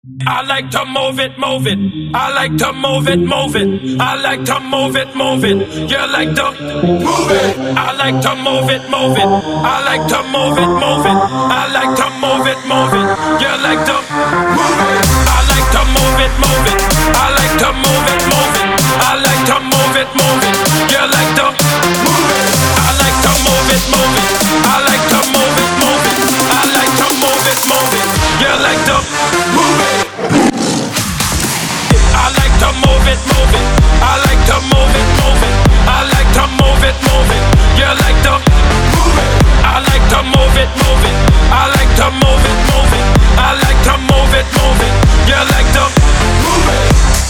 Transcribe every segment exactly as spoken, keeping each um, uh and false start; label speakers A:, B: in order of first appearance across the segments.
A: I like to move it, move it. I like to move it, move it. I like to move it, move it. You like to move it. I like to move it, move it. I like to move it, move it. I like to move it, move it. You like to move it. I like to move it, move it. I like to move it, move it. I like to move it, move it. You like to move it. I like to move it, move it. I like to move it, move it. I like to move it, move it. You like to move it. I like to move it, move it. I like to move it, move it. I like to move it, move it. You like to move it. I like to move it, move it. I like to move it, move it. I like to move it, move it. You like to move it.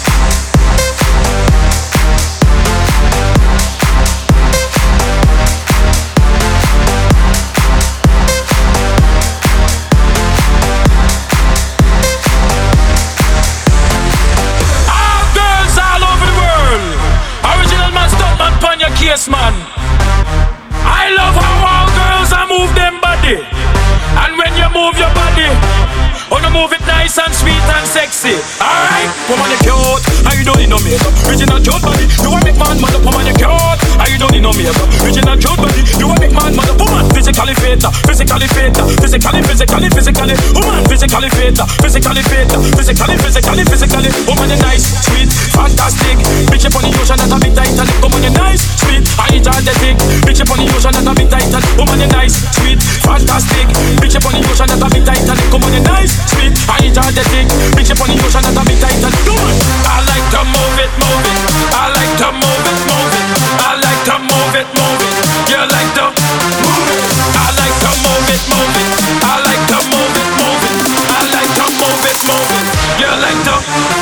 A: Yes, man. I love how all girls I move them body. And when you move your body, wanna move it nice and sweet and sexy. Alright, woman you cute, and you don't need no makeup. Original cute body, you a big man, mother. Woman you cute, and you don't need no makeup. Original cute body, you a big man, mother. Woman physically fit, physically fit, physically, physically, physically. Woman physically fit, physically fit, physically, physically, physically. Woman you nice, sweet, fantastic. Bitch up on the ocean that a bit tight. Woman you nice, sweet, and energetic. Bitch up on the ocean that a bit tight. Woman you nice, sweet, fantastic. Bitch up on the ocean that a bit tight. Woman you nice, sweet, and energetic. Bitch up on the ocean that a bit tight. I like to move it, move it. I like to move it, move it. I like to move it, move it. You like to move it. I like to move it, move it. I like to move it, move it. I like to move it, move it. You like to